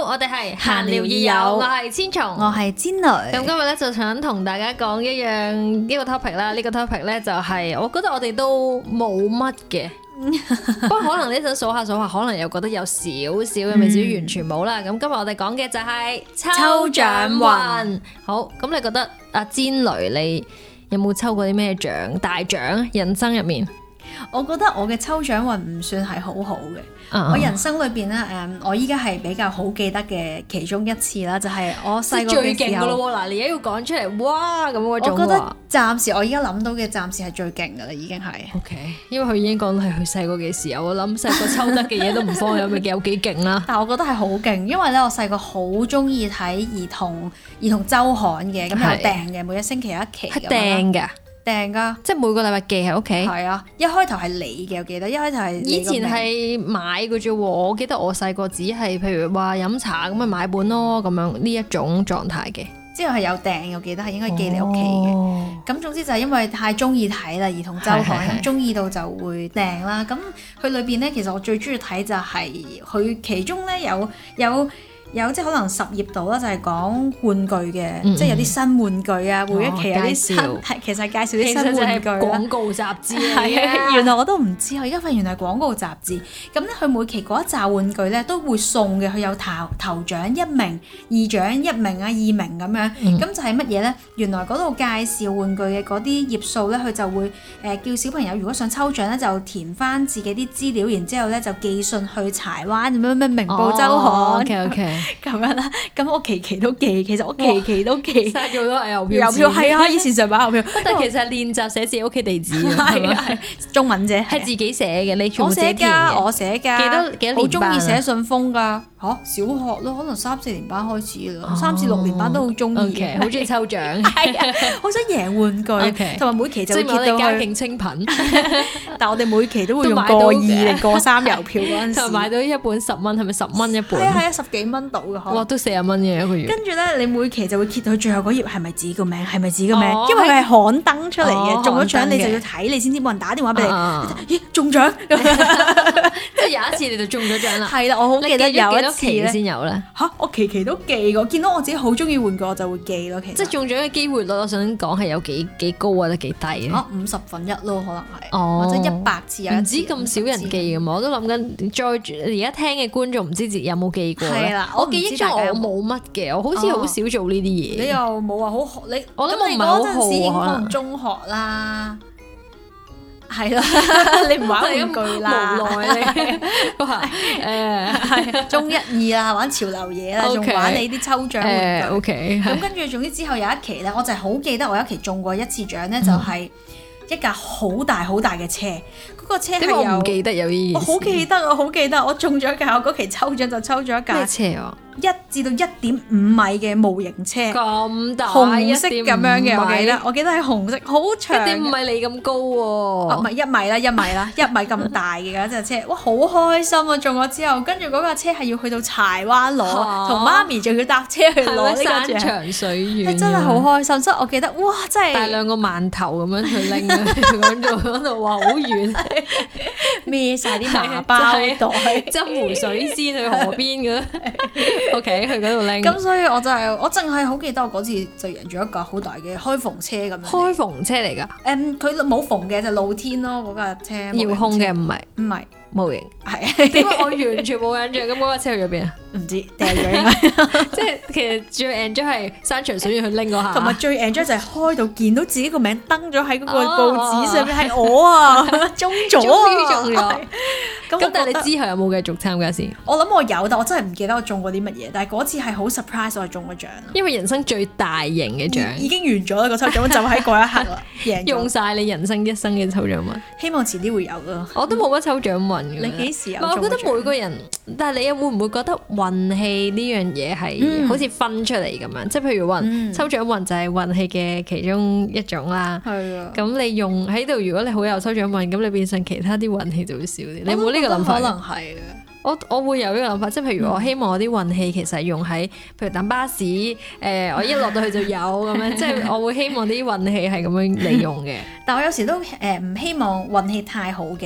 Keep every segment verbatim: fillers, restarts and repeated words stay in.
我哋係閒聊二友，我係千松， 我係煎女。 咁今日咧就想同大家講一樣呢個 topic 啦，呢個 topic 咧就係我覺得我哋都冇乜嘅，不過可能呢陣數下數下，可能又覺得有少少嘅，未至於完全冇啦。咁今日我哋講嘅就係抽獎運。好，咁你覺得阿煎女你有冇抽過啲咩獎？大獎人生入面？ 我覺得我嘅抽獎運唔算係好好嘅。 Uh-huh. 我人生裏邊咧，誒，我依家係比較好記得嘅其中一次啦，就係、是、我細個嘅時候。最勁噶咯喎！嗱，你而家要講出嚟，哇咁嗰種。我覺得暫時我依家諗到嘅暫時係最勁噶啦，已經係。O、okay, K， 因為佢已經講係佢細個嘅時候，我諗細個抽得嘅嘢都唔放有咪有幾勁啦。但係我覺得係好勁，因為咧我細個好中意睇兒童兒童週刊嘅，咁有訂嘅，每一星期有一期。係訂㗎。訂噶，即係每個禮拜寄喺屋企。係啊，一開頭係你嘅，我記得一開頭係。以前係買嘅啫喎，我記得我細個只係譬如話飲茶咁咪買本咯，咁樣呢一種狀態嘅。之後係有訂，我記得係應該寄你屋企嘅。咁、哦、總之就係因為太中意睇啦，兒童週刊咁中意到就會訂啦。咁佢裏邊咧，其實我最中意睇就係佢其中咧有有。有有即係可能十頁度啦，就係講玩具嘅，嗯、即係有啲新玩具啊，每一期有啲新，係、哦、其實介紹啲新玩具啦。廣告雜誌係啊，原來我都唔知，我而家發現原來係廣告雜誌。咁咧，佢每期嗰一紮玩具咧都會送嘅，佢有頭頭獎一名、二獎一名啊、二名咁樣。咁、嗯、就係乜嘢咧？原來嗰度介紹玩具嘅嗰啲頁數咧，佢就會誒、呃、叫小朋友如果想抽獎咧，就填翻自己啲資料，然之後咧就寄信去柴灣咁樣咩明報週刊。 哦、OK OK。 咁樣啦，咁我期期都寄，其實我期期都寄，嘥咗好多郵票。郵票係啊，以前成版郵票，但係其實練習寫自己屋企地址，係係中文啫，係自己寫嘅，你全部自己填嘅。我寫㗎，幾多幾多年班啊？好中意寫信封㗎。嚇、啊，小學咯，可能三四年班開始啦，三至六年班都好中意嘅，好中意抽獎，係啊，好想贏玩具，同、okay. 埋每期就會見到佢家境清貧，但我哋每期都會用過二定過三郵票嗰陣時，就買到一本十蚊，係咪十蚊一本？係啊係啊，十幾蚊到嘅，哇，都四十蚊嘅一個月。跟住咧，你每期就會揭到佢最後嗰頁係咪自己個名，係咪自己個名？哦、因為佢係刊登出嚟嘅、哦，中咗獎你就要睇，你先知冇人打電話俾你。咦，中獎！即係有一次你就中咗獎啦。係啦，我好記得有一期先有咧嚇，我期期都寄過，見到我自己好中意玩具我就會寄咯。其實即係中獎嘅機會率，我想講係有幾幾高或者幾低咧？嚇，五十分一咯，可能係、哦，或者一百次有一次。唔知咁少人寄嘅嘛？我都諗緊再而家聽嘅觀眾唔知有冇寄過咧？係啦，我記憶中我冇乜嘅，我好似好少做呢啲嘢。你又冇話好你，我諗我唔係好好可能中學啦。係啦，你唔玩玩具啦，無奈你哇誒係中一二啦，玩潮流嘢啦，仲、okay. 玩你啲抽獎玩具。OK，咁跟住總之之後有一期咧，我就係好記得我有一期中過一次獎咧，就係一架好大好大嘅車。嗰、嗰個車係有，我唔記得有呢件事。我好記得，我好記得，我中咗一架，我嗰期抽獎就抽咗一架咩車啊？一至到一點五米嘅模型車，咁大，紅色咁樣嘅，我記得，我記得係紅色，好長，一點五米你咁高喎，唔係一米啦，一米啦，一米咁大嘅嗰隻車，哇，好開心啊！中咗之後，跟住嗰架車係要去到柴灣攞，同媽咪仲要搭車去攞呢個獎，山長水遠，真係好開心。所以我記得，哇，真係帶兩個饅頭咁樣去拎，咁做嗰度話好遠，孭晒啲麻包袋，斟湖水先去河邊嘅。O K， 去嗰度拎。咁所以我就係、是、我淨係好記得我嗰次就贏咗一架好大嘅開篷車咁樣。開篷車嚟㗎？誒、嗯，佢冇篷嘅，就是、露天咯嗰架車。遙控嘅唔係唔係模型。係。點解我完全冇印象？咁嗰架車去咗邊啊？唔知掉咗應該。即係其實最 enjoy 係山長水遠去拎嗰下。同埋最 enjoy 就係開到見到自己個名登咗喺嗰個報紙上面，係、哦、我啊中咗啊！終於中咗。咁但係你之後有冇繼續參加先？我諗我有，但我真係唔記得我中過啲乜嘢。但係嗰次係好 surprise，我係中咗獎。因為人生最大型嘅獎已經完咗啦，個抽獎就喺嗰一刻啦，贏用晒你人生一生嘅抽獎運。希望遲啲會有咯。我都冇乜抽獎運嘅。你幾時有？我覺得每個人，但係你又會唔會覺得運氣呢樣嘢係好似分出嚟咁樣？嗯、即係譬如運、嗯、抽獎運就係運氣嘅其中一種啦。係啊。咁你用喺度，如果你好有抽獎運，咁你變成其他啲運氣就會少啲。你有冇呢個諗法？可能係嘅。我我會有呢個諗法，即係譬如我希望我啲運氣其實用喺譬如等巴士，誒、呃、我一落到去就有咁樣，即係我會希望啲運氣係咁樣利用嘅。但我有時都誒唔希望運氣太好嘅。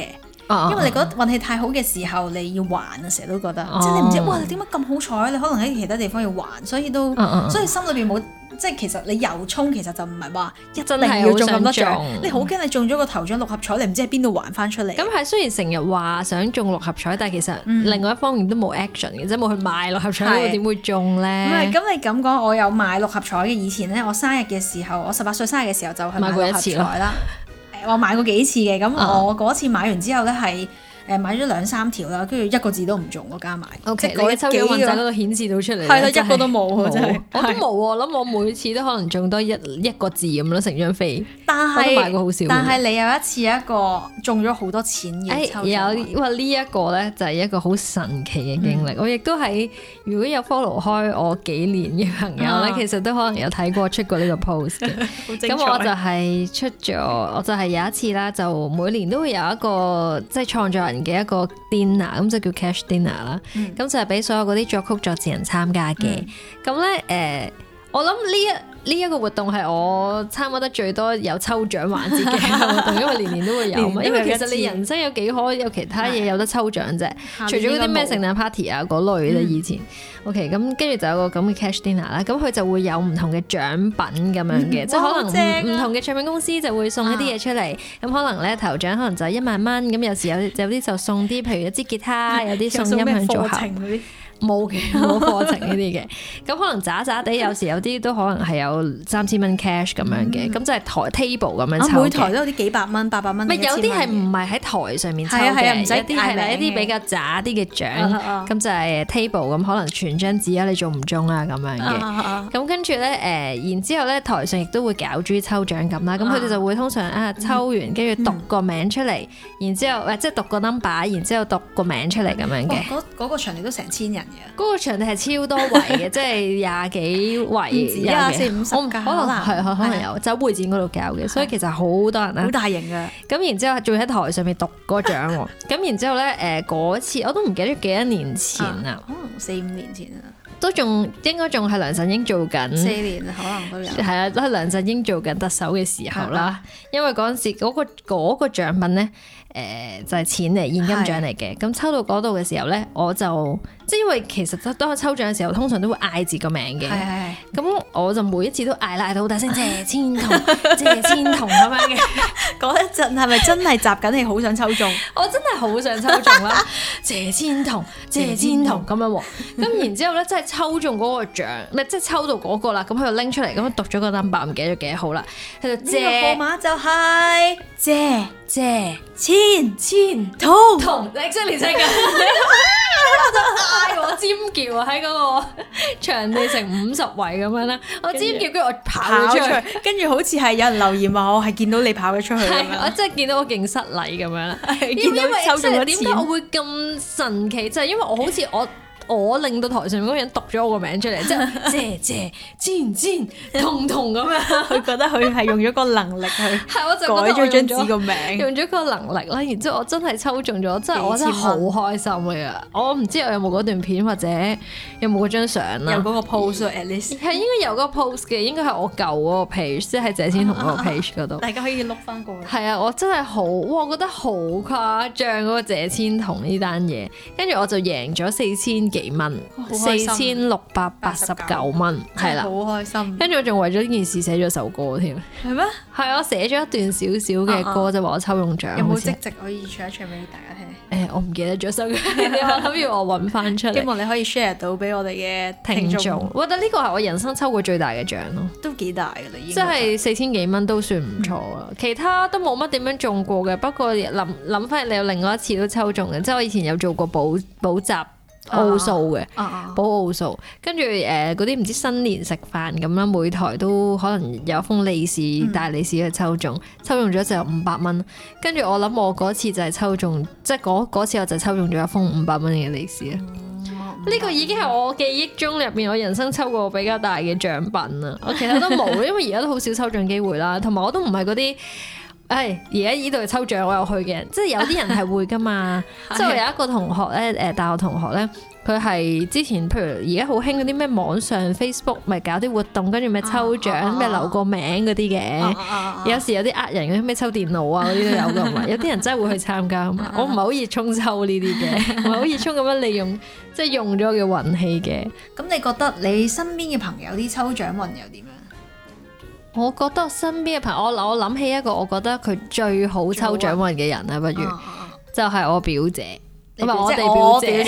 啊、因為你覺得運氣太好嘅時候你要還啊，成日都覺得，啊、即係你唔知哇點解咁好彩，你可能喺其他地方要還，所以都、啊、所以心裏邊冇。即係其實你由衷其實就唔係話一定要中咁多獎，你好驚你中咗個頭獎六合彩，你唔知喺邊度還翻出嚟。 咁係雖然成日話想中六合彩，但係其實另外一方面都冇 action 嘅，即係冇去買六合彩，點會中咧？ 唔係咁你咁講，我有買六合彩嘅。以前咧，我生日嘅時候，我十八歲生日嘅時候就去買六合彩啦。誒，我買過幾次嘅，咁我嗰次買完之後咧係。誒買咗兩三條啦，跟住一個字都唔中，我加埋。 O K，你嘅抽獎運仔嗰度顯示到出嚟。 係啦，一個都冇，真係。 我都冇喎，我諗我每次都可能中多一一個字咁咯，成張飛。 但係， 我都買過好少。 但係你有一次一個中咗好多錢嘅抽獎。 有，哇！呢一個咧就係一個好神奇嘅經歷。我亦都喺如果有 follow 開我幾年嘅朋友咧，其實都可能有睇過出過呢個 post 嘅。咁我就係出咗，我就係有一次啦，就每年都會有一個即係創作人嘅一個 dinner， 咁就叫 cash dinner 啦、嗯，咁就係俾所有嗰啲作曲作詞人參加嘅。咁咧誒，我諗呢一呢一個活動係我參加得最多有抽獎環節嘅活動，因為年年都會有嘛。因為其實你人生有幾可有其他嘢有得抽獎啫，除咗嗰啲咩聖誕 party 啊嗰類咧以前。嗯、OK，咁跟住就有個咁嘅 cash dinner 啦，咁佢就會有唔同嘅獎品咁樣嘅，嗯、即係可能唔同嘅唱片公司就會送一啲嘢出嚟。咁、啊、可能咧頭獎可能就係一萬蚊，咁有時有有啲就送啲，譬如一支吉他，有啲送音響組合。冇嘅，冇課程呢啲嘅，咁可能渣渣地，有時有啲都可能係有三千蚊 cash 咁樣嘅，咁、嗯、就係台 table 咁樣抽嘅。每台都有啲幾百蚊、八百蚊。咪有啲係唔係喺台上面抽嘅，有啲係一啲比較渣啲嘅獎，咁、啊、就係 table 咁，可能傳張紙啊，你中唔中啊咁樣嘅。咁、啊、跟住咧，誒，然之後咧，台上亦都會搞豬抽獎咁啦，咁佢哋就會通常啊抽完，跟住讀個名出嚟，然之後誒即係讀個 number，然之後讀個名出嚟咁樣嘅。嗰嗰個場地都成千人。 嗰個場地係超多圍嘅，即係廿幾圍，廿四五十可能係可能有酒會展嗰度搞嘅，所以其實好多人啦， 好大型嘅。 咁然之後仲喺台上面讀嗰個獎喎，咁然之後咧誒嗰次我都唔記得幾多年前啦， 可能四五年前啊， 都仲應該仲係梁振英做緊四年可能都有， 係啊，都係梁振英做緊特首嘅時候啦，因為嗰陣時嗰個嗰個獎品咧。誒、呃、就係、是、錢嚟，現金獎嚟嘅。咁是抽到嗰度嘅時候咧，我就即係因為其實當我抽獎嘅時候，通常都會嗌字個名嘅。咁我就每一次都嗌啦，嗌到好大聲，謝千桐，謝千桐咁樣嘅。 嗰一陣係咪真係集緊你好想抽中？ 我真係好想抽中啦！謝千桐，謝千桐咁樣喎。咁然之後咧，真係抽中嗰個獎，唔係即係抽到嗰個啦。咁佢就拎出嚟，咁讀咗個 number，唔記得咗幾多號啦。佢就謝號碼就係謝謝千千桐桐，你真係連聲㗎！我就嗌我尖叫啊！喺嗰個場地成五十圍咁樣啦，我尖叫，跟住我跑出去， 跟住好似係有人留言話我係見到你跑咗出去， 我真係見到我勁失禮咁樣啦。 見到抽中咗錢，點解我會咁神奇？就係因為我好似我。我令到台上面嗰個人讀咗我個名出嚟，即係謝謝千千桐桐咁樣， 佢覺得佢係用咗個能力去係，我就改咗張紙個名， 用咗個能力啦。然之後我真係抽中咗，真係我真係好開心嘅。我唔知我有冇嗰段片或者有冇嗰張相啦， 有嗰個 post，at least 係應該有嗰個 post 嘅，應該係我舊嗰個 page，即係謝千桐嗰個 page 嗰度， 大家可以碌翻過去。 係啊，我真係好，哇！我覺得好誇張嗰個謝千桐呢單嘢，跟住我就贏咗四千幾蚊，四千六百八十九蚊，係啦， 好開心。 跟住我仲為咗呢件事寫咗首歌添， 係咩？ 係啊，寫咗一段少少嘅歌就話我抽中獎。 有冇即席可以唱一唱俾大家聽？ 誒，我唔記得咗首歌，我諗要我揾翻出嚟。 希望你可以 share 到俾我哋嘅聽眾。 我覺得呢個係我人生抽過最大嘅獎咯， 都幾大㗎啦，已經。 即係四千幾蚊都算唔錯啊！其他都冇乜點樣中過嘅，不過諗諗翻你有另外一次都抽中嘅，即係我以前有做過補補習。奧數嘅，補奧數，跟住誒嗰啲唔知新年食飯咁啦，每台都可能有封利是、嗯、大利是去抽中，抽中咗就有五百蚊。跟住我諗我嗰次就係抽中，即係嗰嗰次我就抽中咗一封五百蚊嘅利是啊！呢、嗯、個已經係我記憶中入邊我人生抽過比較大嘅獎品啦。我其他都冇，因為而家都好少抽中機會啦，同埋我都唔係嗰啲。誒、 誒而家呢度抽獎我有去嘅，即係有啲人係會噶嘛。即係我有一個同學咧，誒大學同學咧，佢係之前譬如而家好興嗰啲咩網上 Facebook 咪搞啲活動，跟住咩抽獎咩留個名嗰啲嘅。有時有啲呃人嗰啲咩抽電腦啊嗰啲都有噶嘛。有啲人真係會去參加嘛。我唔係好熱衷抽呢啲嘅，唔係好熱衷咁樣利用即係用咗嘅運氣嘅。 咁你覺得你身邊嘅朋友啲抽獎運又點樣？ 我覺得身邊嘅朋友，我我諗起一個我覺得佢最好抽獎運嘅人啦，不如就係我表姐，唔係我哋表姐。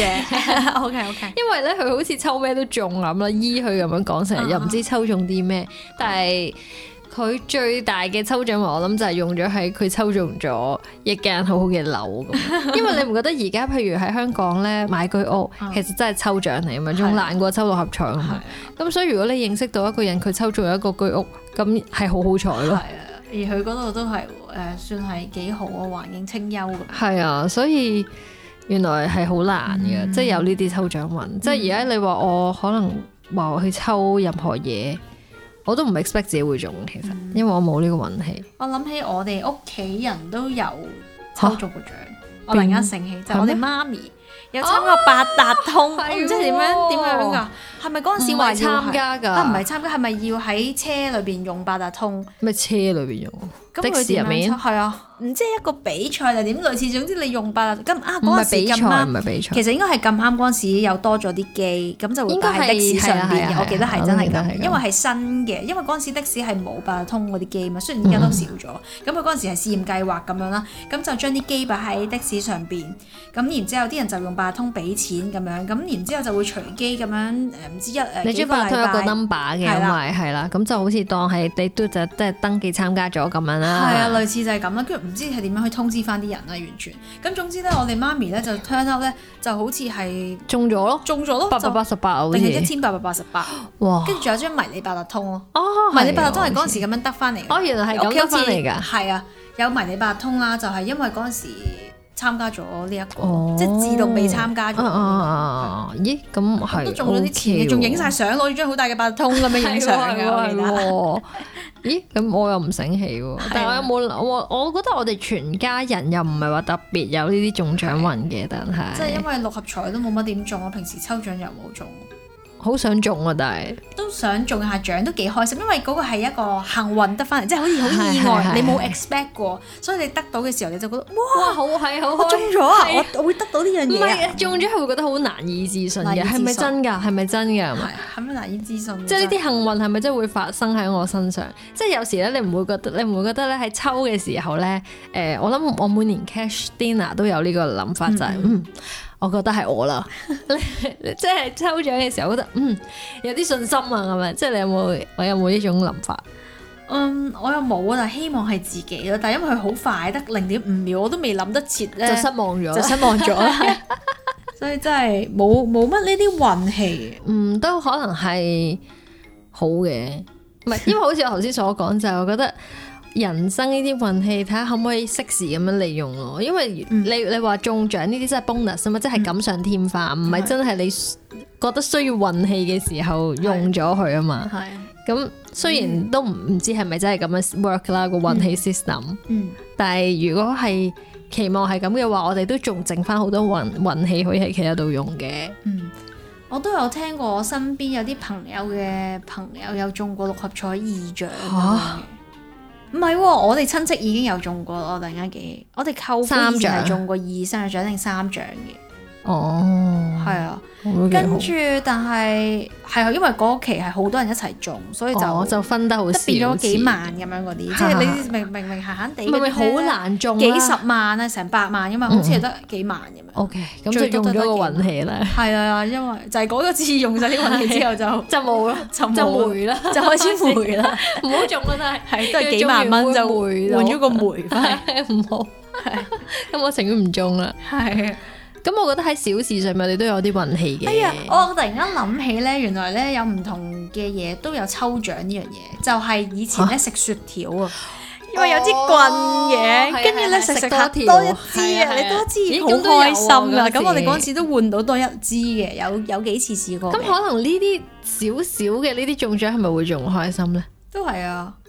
O K O K。 因為咧佢好似抽咩都中咁啦，依佢咁樣講成日又唔知抽中啲咩，但係佢最大嘅抽獎運我諗就係用咗喺佢抽中咗一間好好嘅樓咁。因為你唔覺得而家譬如喺香港咧買居屋，其實真係抽獎嚟啊嘛，仲難過抽六合彩啊嘛。咁所以如果你認識到一個人佢抽中一個居屋，咁係好好彩咯。係啊， 而佢嗰度都係誒、呃、算係幾好啊，環境清幽咁。 係啊，所以原來係好難嘅，嗯、即係有呢啲抽獎運。嗯、即係而家你話我可能話我去抽任何嘢，我都唔 expect 自己會中，其實，嗯、因為我冇呢個運氣。 我諗起我哋屋企人都有抽中過獎，啊、我突然間醒起，就係、我哋媽咪有參加八達通，啊、我唔知點樣點樣㗎。係咪嗰陣時話參加㗎？ 啊，唔係參加，係咪要喺車裏邊用八達通？ 咩車裏邊用？的士入面？ 係啊，唔知一個比賽定點類似，總之你用八達通。咁啊嗰陣時咁啱， 唔係比賽， 其實應該係咁啱嗰陣時有多咗啲機，咁就會擺喺的士上邊嘅。我記得係真係咁，因為係新嘅，因為嗰陣時的士係冇八達通嗰啲機嘛，雖然而家都少咗。咁佢嗰陣時係試驗計劃咁樣啦，咁就將啲機擺喺的士上邊，咁然之後啲人就用八達通俾錢咁樣，咁然之後就會隨機咁樣誒唔知一誒幾個禮拜。 有個 number 嘅，因為係啦，咁就好似當係你都就即係登記參加咗咁樣啦。 係啊，類似就係咁啦，跟住唔知係點樣去通知翻啲人啦，完全。咁總之咧，我哋媽咪咧就 turn up 咧，就好似係中咗咯， 中咗咯， 八百八十八， 定係一千八百八十八。哇！跟住仲有張迷你八達通咯。哦，迷你八達通係嗰陣時咁樣得翻嚟。 哦，原來係咁得翻嚟㗎。 係啊，有迷你八達通啦，就係因為嗰陣時參加咗呢一個，即係自動被參加咗。 咦，咁係都中咗啲錢，仲影晒相，攞住張好大嘅八達通咁樣影相㗎。 咦，咁我又唔醒起喎。但係我有冇我我覺得我哋全家人又唔係話特別有呢啲中獎運嘅，但係即係因為六合彩都冇乜點中，我平時抽獎又冇中。 好想中啊！但係都想中下獎，都幾開心，因為嗰個係一個幸運得翻嚟，即係好似好意外，你冇 expect 過，所以你得到嘅時候你就覺得哇， 哇好係好， 我中咗啊！我我會得到呢樣嘢。 唔係中咗係會覺得好難以置信嘅，係咪真㗎？係咪真㗎？係咪？ 係咪難以置信？ 即係呢啲幸運係咪真係會發生喺我身上？即係有時咧，你唔會覺得，你唔會覺得咧喺抽嘅時候咧，誒，我諗我每年 cash dinner 都有呢個諗法，就係嗯。我覺得係我啦，即係抽獎嘅時候，覺得嗯有啲信心啊，咁樣，即係你有冇？我有冇呢種諗法？ 嗯，我又冇啊，但係希望係自己咯。但係因為佢好快，得零點五秒，我都未諗得切咧， 就失望咗， 就失望咗啦。所以真係冇冇乜呢啲運氣。 嗯，都可能係好嘅，唔係，因為好似我頭先所講，就係我覺得。人生呢啲運氣，睇下可唔可以適時咁樣利用咯。因為你你話中獎呢啲真係 bonus 啊嘛，即係錦上添花，唔係、嗯、真係你覺得需要運氣嘅時候用咗佢啊嘛。係咁，雖然都唔唔知係咪真係咁樣 work 啦個運氣 system。嗯，但係如果係期望係咁嘅話，我哋都仲剩翻好多運運氣可以喺其他度用嘅。 嗯，我都有聽過我身邊有啲朋友嘅朋友有中過六合彩二獎。唔係喎，我哋親戚已經有中過咯，我突然間記，我哋舅父以前係中過二三獎定三獎嘅。哦，係啊，跟住但係係因為嗰期係好多人一齊中，所以就、哦、 就分得好少， 變咗幾萬咁樣嗰啲，即係你明明明閒閒地， 明明好難中， 幾十萬啊，成百萬噶嘛，好似係得幾萬咁樣。 O K，咁就用咗個運氣啦。 係啊，因為就係嗰個次用晒啲運氣之後就就冇啦，就霉啦， 就開始霉啦， 唔好中啦，都係係都係幾萬蚊就換咗個霉翻， 唔好。咁我情願唔中啦。係。咁我覺得喺小事上面，你都有啲運氣嘅。 哎呀，我突然間諗起咧，原來咧有唔同嘅嘢都有抽獎呢樣嘢，就係、是、以前咧食雪條啊，因為有支棍嘅，跟住咧食食下多一支啊，你多一支好開心啊！咁我哋嗰陣時都換到多一支嘅，有有幾次試過。 咁可能呢啲少少嘅呢啲中獎係咪會仲開心咧？ 都係啊，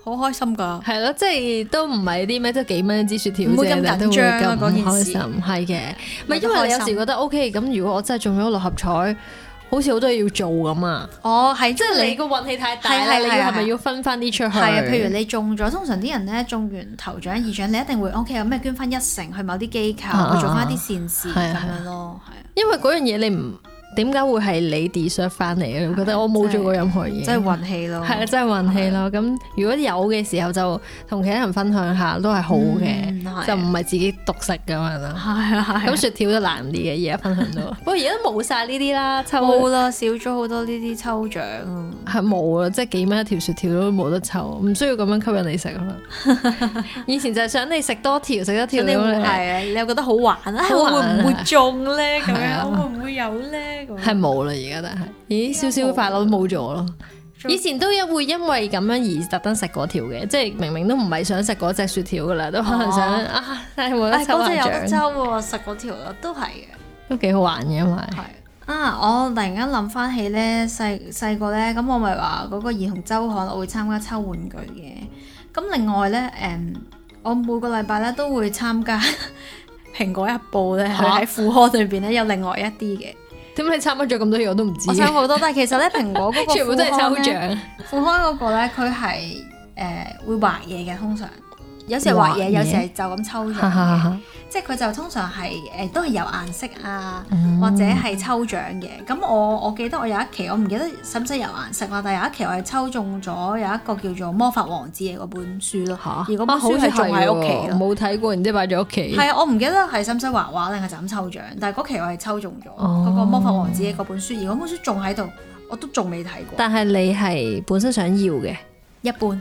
好開心㗎。 係咯，即係都唔係啲咩，即係幾蚊一支雪條啫， 唔會咁緊張啊嗰件事。 係嘅，唔係因為你有時覺得 OK，咁如果我真係中咗六合彩。好似好多嘢要做咁啊！ 哦，係， 即係你個運氣太大啦，你係咪要分翻啲出去？ 係啊，譬如你中咗，通常啲人咧中完頭獎、二獎，你一定會 OK 有咩捐翻一成去某啲機構，啊、去做翻啲善事咁樣咯，係啊。 因為嗰樣嘢你唔點解會係你 deserve 翻嚟嘅？我覺得我冇做過任何嘢， 真係運氣咯。係啊， 真係運氣咯。咁如果有嘅時候就同其他人分享下都係好嘅，嗯、就唔係自己獨食咁樣啦。係啊，咁雪條都難啲嘅，而家分享到。不過而家都冇晒呢啲啦，抽冇啦，少咗好多呢啲抽獎。 係冇啦，即係幾蚊一條雪條都冇得抽，唔需要咁樣吸引你食啊。以前就係想你食多條，食一條你會係啊，你又覺得好玩啊，會唔會中咧？咁樣會唔會有咧？ 係冇啦，而家但係，咦，少少快樂都冇咗咯。以前都一會因為咁樣而特登食嗰條嘅，即係明明都唔係想食嗰隻雪條噶啦，都可能想、哦、啊，但係冇得抽下獎。嗰隻有得抽喎，食嗰條咯，都係嘅，都幾好玩嘅，因為係啊，我突然間諗翻起咧，細細個咧，咁我咪話嗰個兒童週刊我會參加抽玩具嘅，咁另外咧，誒，我每個禮拜咧都會參加蘋果日報咧，佢喺副刊裏邊咧有另外一啲嘅。 點解你參加咗咁多嘢我都唔知？ 我參加好多，但係其實咧蘋果嗰個全部都係抽獎。 副刊嗰個咧，佢係誒會畫嘢嘅，通常有時係畫嘢，有時係就咁抽獎嘅。即係佢就通常係誒、呃、都係有顏色啊，嗯、或者係抽獎嘅。咁我我記得我有一期我唔記得使唔使有顏色啦，但係有一期我係抽中咗有一個叫做《魔法王子》嘅嗰本書咯。嚇！而嗰本書係仲喺屋企咯， 冇睇過，然之後擺咗屋企。 係啊，我唔記得係使唔使畫畫定係就咁抽獎，但係嗰期我係抽中咗嗰個《魔法王子》嘅嗰本書，而嗰本書仲喺度，我都仲未睇過。 但係你係本身想要嘅， 一般。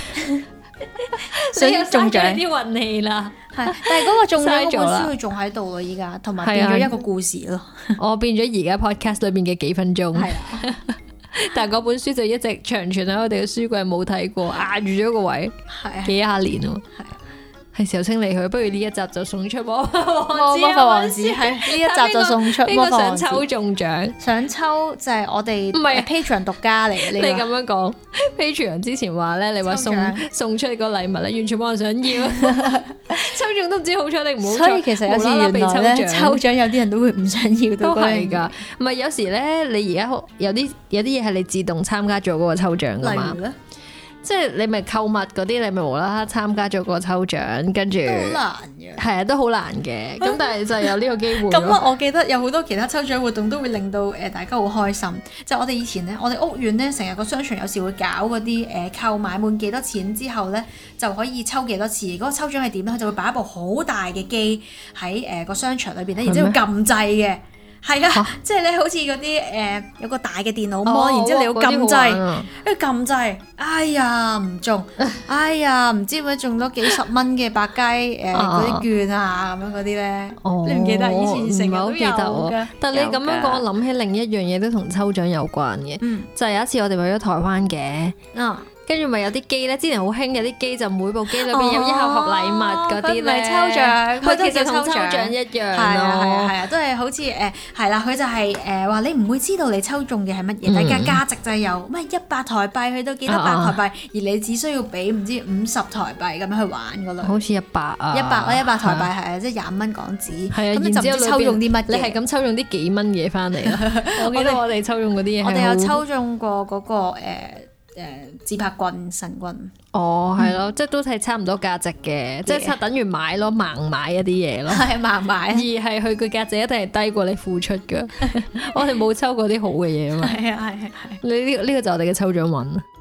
想中獎啲運氣啦， 係，但係嗰個中獎嗰本書佢仲喺度咯，依家同埋變咗一個故事咯。 我變咗而家 podcast 裏邊嘅幾分鐘，係啊，但係嗰本書就一直長存喺我哋嘅書櫃冇睇過，壓住咗個位，係啊，幾廿年咯，係啊。係時候清理佢，不如呢一集就送出魔法王子。魔法王子係呢一集就送出魔法王子。邊個想抽中獎？ 想抽就係我哋唔係 Patreon 獨家嚟嘅。 你咁樣講 Patreon 之前話咧，你話送送出個禮物咧，完全冇人想要。抽中都唔知好彩定唔好彩。所以其實有時原來咧，抽獎有啲人都會唔想要。 都係㗎，唔係有時咧，你而家有啲有啲嘢係你自動參加咗嗰個抽獎㗎嘛。例如咧？即係你咪購物嗰啲，你咪無啦啦參加咗個抽獎，跟住好難嘅， 係啊，都好難嘅。咁但係就有呢個機會。 咁我記得有好多其他抽獎活動都會令到誒大家好開心。就係、我哋以前咧，我哋屋苑咧成日個商場有時會搞嗰啲誒購買滿幾多錢之後咧就可以抽幾多次。嗰、嗰個抽獎係點咧？佢就會擺一部好大嘅機喺誒個商場裏邊咧，然之後撳掣嘅。係啊，蛤即係咧，好似嗰啲誒有個大嘅電腦模，然之後你要撳掣，跟住撳掣，哎呀唔中，哎呀唔知點解中咗幾十蚊嘅百佳誒嗰啲券啊咁樣嗰啲咧，哦、你唔記得以前成日都有㗎。 但係你咁樣講，我諗起另一樣嘢都同抽獎有關嘅，嗯、就係有一次我哋去咗台灣嘅。嗯跟住咪有啲機咧，之前好興有啲機就每部機裏邊有一盒盒禮物嗰啲咧， 佢唔係抽獎，佢其實同抽獎一樣咯， 係啊係啊係啊，都係好似誒係啦，佢就係誒話你唔會知道你抽中嘅係乜嘢，但係價值就係由咩一百台幣去到幾多百台幣，而你只需要俾唔知五十台幣咁樣去玩噶啦， 好似一百啊， 一百啦一百台幣係啊，即係廿五蚊港紙，咁你就唔知抽中啲乜嘢， 你係咁抽中啲幾蚊嘢翻嚟啦。我記得我哋抽中嗰啲嘢， 我哋有抽中過嗰個誒。誒自拍棍神棍哦，係咯，即係都係差唔多價值嘅，即係差等於買咯，盲買一啲嘢咯， 係盲買， 而係佢個價值一定係低過你付出㗎。我哋冇抽過啲好嘅嘢啊嘛， 係啊係係係， 你呢呢個就係我哋嘅抽獎運。